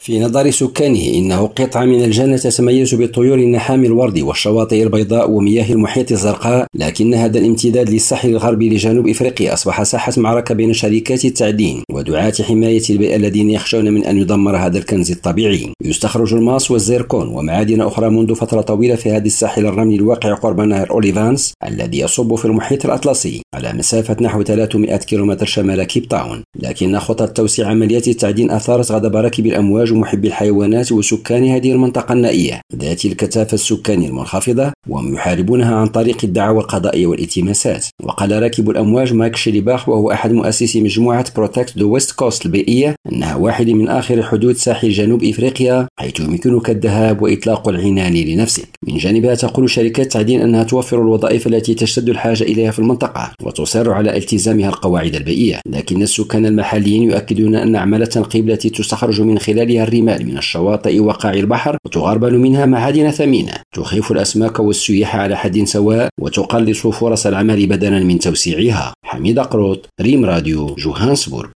في نظر سكانه إنه قطعة من الجنة تتميز بالطيور النحام الورد والشواطئ البيضاء ومياه المحيط الزرقاء، لكن هذا الامتداد للساحل الغربي لجنوب إفريقيا أصبح ساحة معركة بين شركات التعدين ودعاة حماية البيئة الذين يخشون من أن يدمر هذا الكنز الطبيعي. يستخرج الماس والزيركون ومعادن أخرى منذ فترة طويلة في هذا الساحل الرملي الواقع قرب نهر أوليفانس الذي يصب في المحيط الأطلسي على مسافة نحو 300 كيلومتر شمال كيب تاون، لكن خطط توسيع عمليات التعدين أثارت غضب راكبي الأمواج ومحبي الحيوانات وسكان هذه المنطقة النائية ذات الكثافة السكانية المنخفضة، وهم يحاربونها عن طريق الدعاوى القضائية والالتماسات. وقال راكب الأمواج مايك شيليباخ وهو أحد مؤسسي مجموعة بروتكت ذا ويست كوست البيئية أنها واحد من آخر حدود ساحل جنوب إفريقيا حيث يمكنك الذهاب وإطلاق العنان لنفسك. من جانبها تقول شركات التعدين أنها توفر الوظائف التي تشتد الحاجة إليها في المنطقة وتصر على التزامها القواعد البيئية، لكن السكان المحليين يؤكدون أن أعمال التنقيب التي تستخرج من خلالها الرمال من الشواطئ وقاع البحر وتغربل منها معادن ثمينة تخيف الأسماك والسياح على حد سواء وتقلص فرص العمل بدلا من توسيعها. حميد قروط، ريم راديو، جوهانسبورغ.